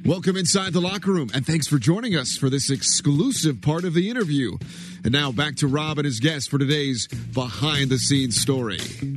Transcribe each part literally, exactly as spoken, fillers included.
Welcome inside the locker room, and thanks for joining us for this exclusive part of the interview. And now back to Rob and his guest for today's behind-the-scenes story.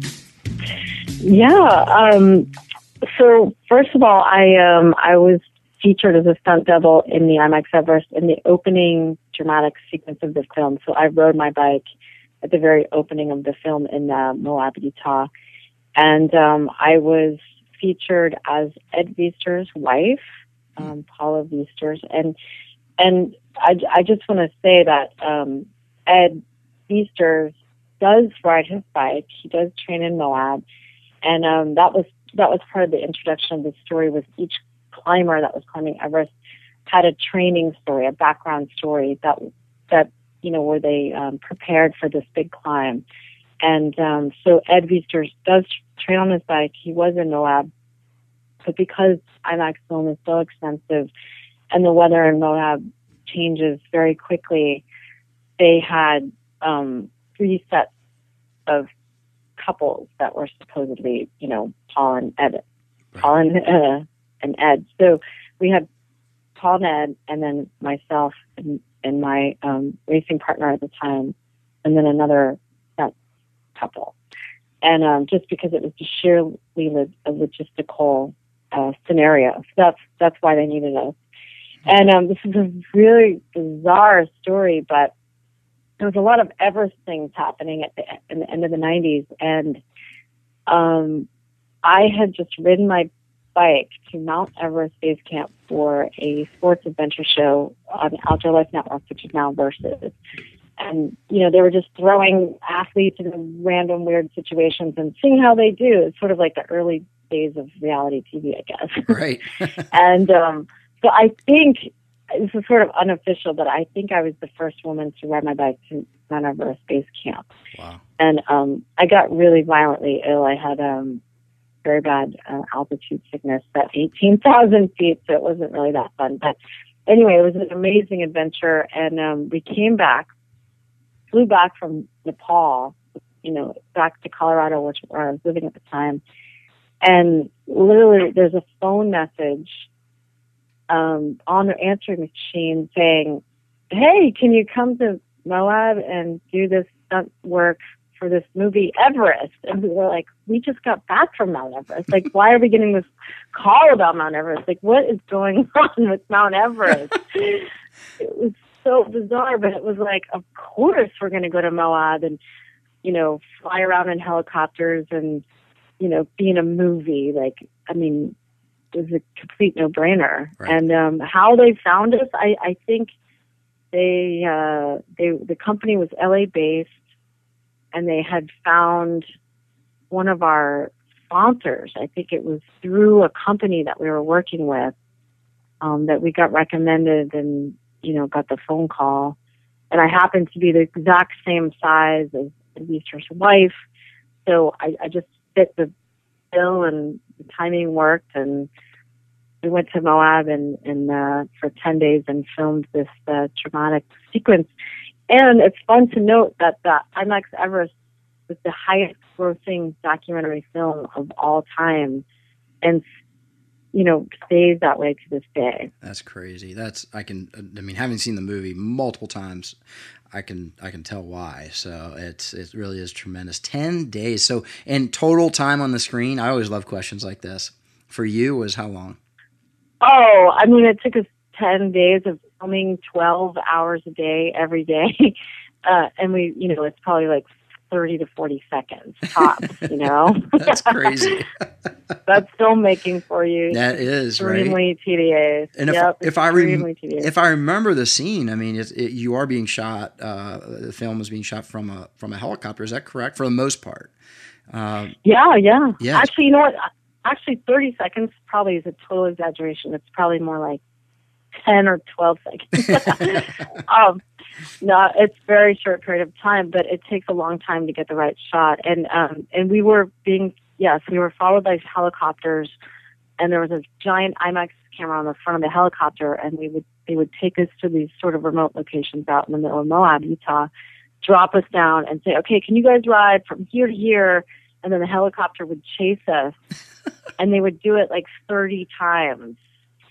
Yeah. Um, so first of all, I um, I was featured as a stunt double in the IMAX Everest in the opening dramatic sequence of the film. So I rode my bike at the very opening of the film in uh, Moab, Utah, and um, I was featured as Ed Viesturs' wife. Um, Paula Viesturs, and and I, I just want to say that um, Ed Viesturs does ride his bike. He does train in Moab, and um, that was that was part of the introduction of the story. Was each climber that was climbing Everest had a training story, a background story that that you know where they um, prepared for this big climb, and um, so Ed Viesturs does train on his bike. He was in Moab. But because IMAX film is so expensive and the weather in Moab changes very quickly, they had um, three sets of couples that were supposedly, you know, Paul and Ed, Paul and, uh, and Ed. So we had Paul and Ed, and then myself and, and my um, racing partner at the time, and then another set couple. And um, just because it was just sheerly a logistical Uh, scenario. So that's that's why they needed us. And um, this is a really bizarre story, but there was a lot of Everest things happening at the, in the end of the nineties, and um, I had just ridden my bike to Mount Everest Base Camp for a sports adventure show on the Outdoor Life Network, which is now Versus. And, you know, they were just throwing athletes into random weird situations and seeing how they do. It's sort of like the early days of reality T V, I guess. Right. and um, so I think, this is sort of unofficial, but I think I was the first woman to ride my bike to Mount Everest Base Camp. Wow. And um, I got really violently ill. I had um, very bad uh, altitude sickness at eighteen thousand feet, so it wasn't really that fun. But anyway, it was an amazing adventure, and um, we came back, flew back from Nepal, you know, back to Colorado, which where I was living at the time. And literally, there's a phone message um, on the answering machine saying, "Hey, can you come to Moab and do this stunt work for this movie Everest?" And we were like, "We just got back from Mount Everest. Like, why are we getting this call about Mount Everest? Like, what is going on with Mount Everest?" It was so bizarre, but it was like, of course we're going to go to Moab and, you know, fly around in helicopters and, you know, be in a movie. Like, I mean, it was a complete no-brainer. Right. And um, how they found us, I, I think they, uh, they, the company was L A based, and they had found one of our sponsors. I think it was through a company that we were working with um, that we got recommended and, you know, got the phone call. And I happened to be the exact same size as Viesturs' wife. So I, I just fit the bill, and the timing worked. And we went to Moab and, and uh, for ten days and filmed this uh, dramatic sequence. And it's fun to note that the IMAX Everest was the highest grossing documentary film of all time, and, you know, stays that way to this day. That's crazy. That's, I can, I mean, having seen the movie multiple times, I can, I can tell why. So it's, it really is tremendous. ten days. So in total time on the screen, I always love questions like this. For you, was how long? Oh, I mean, it took us ten days of filming twelve hours a day, every day. Uh, and we, you know, it's probably like thirty to forty seconds tops, you know? That's crazy. That's filmmaking for you. That is, extremely right? tedious. And if, yep, if I rem- tedious. if I remember the scene, I mean, it, it, you are being shot, uh, the film is being shot from a, from a helicopter. Is that correct? For the most part. Uh, yeah, yeah. Yeah. Actually, you know what? Actually, thirty seconds probably is a total exaggeration. It's probably more like ten or twelve seconds. um, no, it's a very short period of time, but it takes a long time to get the right shot. And um, and we were being, yes, we were followed by helicopters, and there was a giant IMAX camera on the front of the helicopter, and we would they would take us to these sort of remote locations out in the middle of Moab, Utah, drop us down and say, "Okay, can you guys ride from here to here?" And then the helicopter would chase us, and they would do it like thirty times.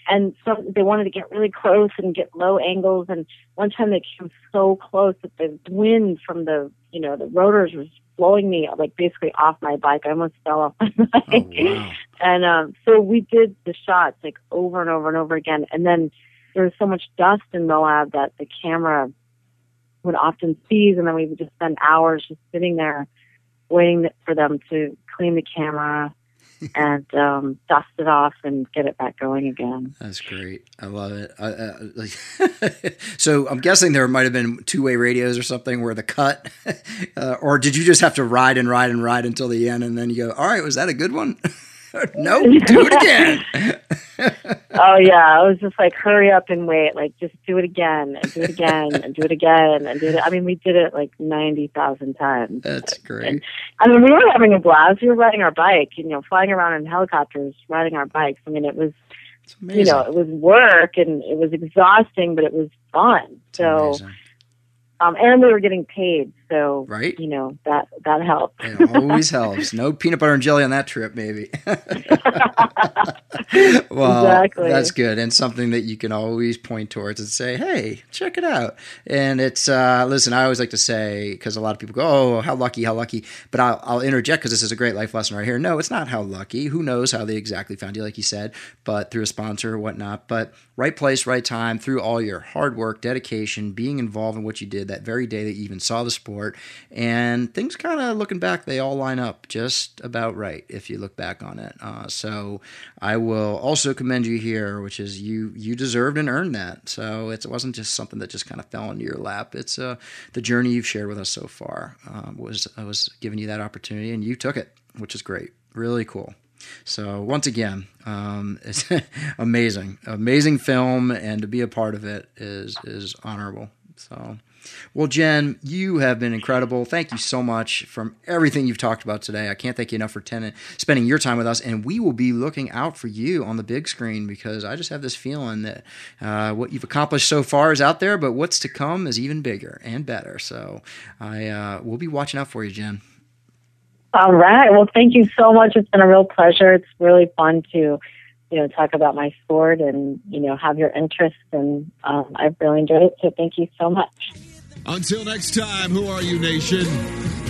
and some they wanted to get really close and get low angles. And one time they came so close that the wind from the you know the rotors was blowing me like basically off my bike. I almost fell off my bike. Oh, wow. And um, so we did the shots like over and over and over again. And then there was so much dust in Moab that the camera would often seize, and then we would just spend hours just sitting there waiting for them to clean the camera and um, dust it off and get it back going again. That's great. I love it. I, uh, so I'm guessing there might have been two-way radios or something where the cut, uh, or did you just have to ride and ride and ride until the end, and then you go, all right, was that a good one? Nope, do it again. Oh yeah, I was just like, hurry up and wait. Like, just do it again and do it again and do it again and do it. I mean, we did it like ninety thousand times. That's great. And, I mean, we were having a blast. We were riding our bike, you know, flying around in helicopters, riding our bikes. I mean, it was, you know, it was work and it was exhausting, but it was fun. It's so. amazing. Um, and we were getting paid, so right? you know that that helped. It always helps. No peanut butter and jelly on that trip, maybe. Well, exactly. That's good, and something that you can always point towards and say, "Hey, check it out." And it's uh, listen. I always like to say, because a lot of people go, "Oh, how lucky, how lucky," but I'll, I'll interject because this is a great life lesson right here. No, it's not how lucky. Who knows how they exactly found you, like you said, but through a sponsor or whatnot. But right place, right time, through all your hard work, dedication, being involved in what you did that very day that you even saw the sport, and things kind of looking back, they all line up just about right if you look back on it. Uh, so I will also commend you here, which is you you deserved and earned that. So it's, it wasn't just something that just kind of fell into your lap. It's uh, the journey you've shared with us so far uh, was I was giving you that opportunity, and you took it, which is great. Really cool. So once again, um, it's amazing, amazing film, and to be a part of it is is honorable. So, well, Jen, you have been incredible. Thank you so much from everything you've talked about today. I can't thank you enough for ten- spending your time with us, and we will be looking out for you on the big screen because I just have this feeling that uh, what you've accomplished so far is out there, but what's to come is even bigger and better. So I uh, we'll be watching out for you, Jen. All right. Well, thank you so much. It's been a real pleasure. It's really fun to, you know, talk about my sport and, you know, have your interest. And um, I've really enjoyed it. So thank you so much. Until next time, who are you, nation?